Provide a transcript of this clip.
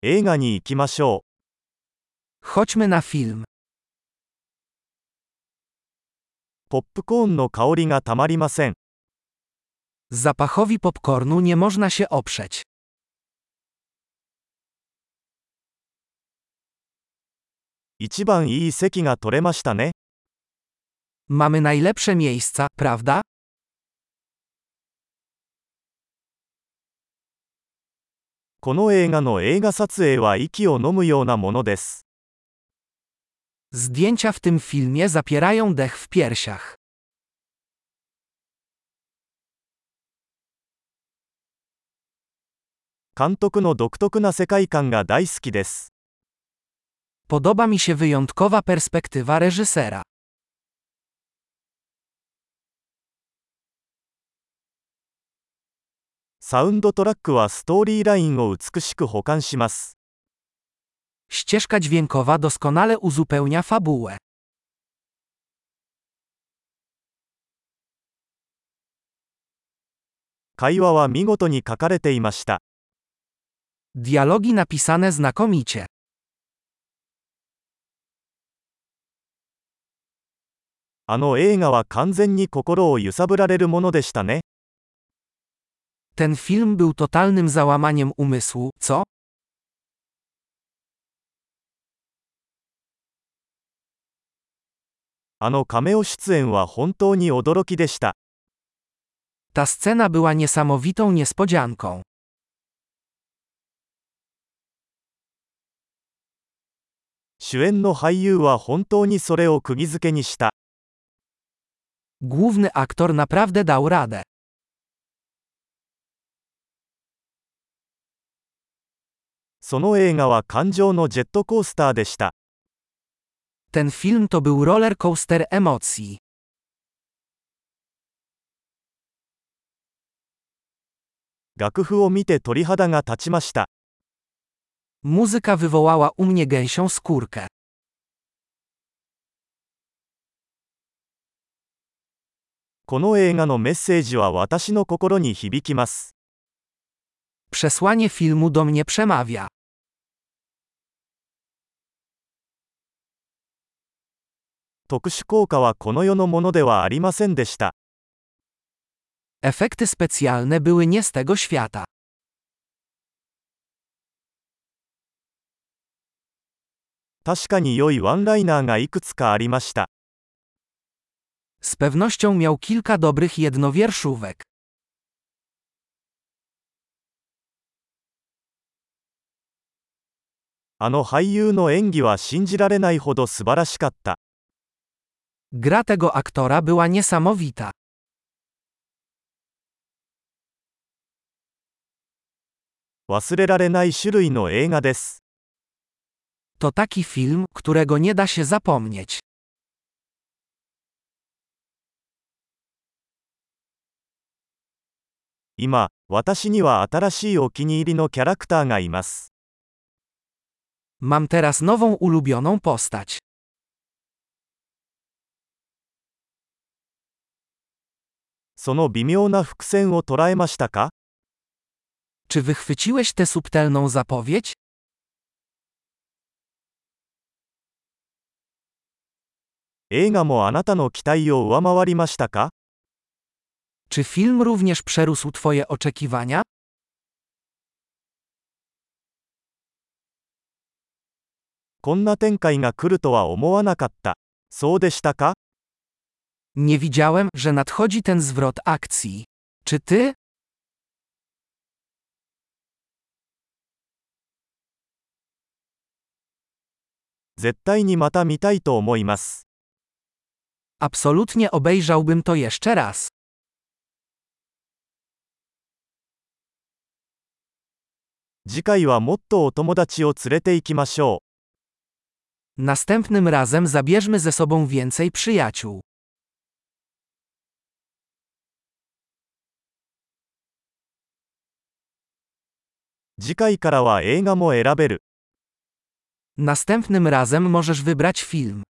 映画に行きましょ Chodźmy na film. う。ポップコーンの香りがたまりません。 Zapachowi popcornu nie można się oprzeć. 一番いい席が取れましたね。 Mamy najlepsze miejsca, prawda? この映画の映画撮影は息を飲むようなものです。 Zdjęcia w tym filmie zapierają dech w piersiach. 監督の独特な世界観が大好きです。 Podoba mi się wyjątkowa perspektywa reżysera. サウンドトラックはストーリーラインを美しく補完します。 Ścieżka dźwiękowa doskonale uzupełnia fabułę. 会話は見事に書かれていました。 Dialogi napisane znakomicie. あの映画は完全に心を揺さぶられるものでしたね。 Ten film był totalnym załamaniem umysłu, co? あのカメオ出演は本当に驚きでした。 Ta scena była niesamowitą niespodzianką. 主演の俳優は本当にそれを釘付けにした。 Główny aktor naprawdę dał radę. その映画は感情のジェットコースターでした。 Ten film to był roller coaster emocji. 楽譜を見て鳥肌が立ちました。 Muzyka wywołała u mnie gęsią skórkę. この映画のメッセージは私の心に響きます。 Przesłanie filmu do mnie przemawia. 特殊効果はこの世のものではありませんでした。 Efekty specjalne były nie z tego świata. 確かに良いワンライナーがいくつかありました。 Z pewnością miał kilka dobrych jednowierszówek. あの俳優の演技は信じられないほど素晴らしかった。 Gra tego aktora była niesamowita. 忘れられない種類の映画です。 To taki film, którego nie da się zapomnieć. 今、私には新しいお気に入りのキャラクターがいます。 Mam teraz nową ulubioną postać. その微妙な伏線を捉えましたか？ Czy wychwyciłeś tę subtelną zapowiedź? 映画もあなたの期待を上回りましたか？ Czy film również przerósł twoje oczekiwania? こんな展開が来るとは思わなかった。そうでしたか？ Nie widziałem, że nadchodzi ten zwrot akcji. Czy ty? 絶対にまた見たいと思います。 Absolutnie obejrzałbym to jeszcze raz. 次回はもっとお友達を連れて行きましょう。 Następnym razem zabierzmy ze sobą więcej przyjaciół. 次回からは映画も選べる。 Następnym razem możesz wybrać film.